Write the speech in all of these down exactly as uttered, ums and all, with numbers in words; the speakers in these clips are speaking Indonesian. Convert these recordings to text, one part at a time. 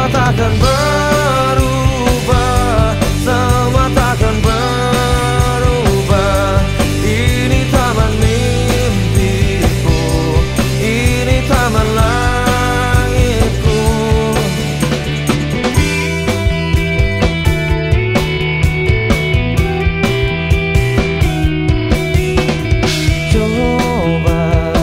Semua takkan berubah, semua takkan berubah. Ini taman mimpiku, ini taman langitku. Coba,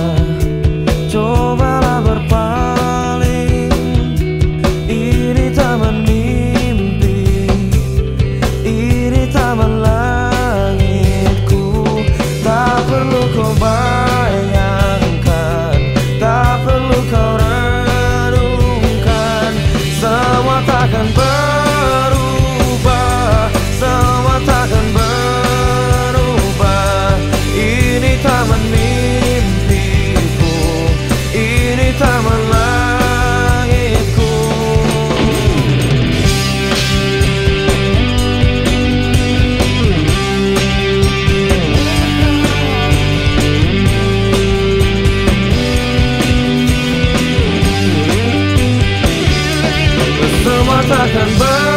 cobalah berpaling. Ini taman mimpi, ini taman langitku. Tak perlu kau bayangkan, tak perlu kau renungkan. Semua takkan berubah, semua takkan berubah. Ini taman mimpiku, ini taman langitku. Semua takkan berubah,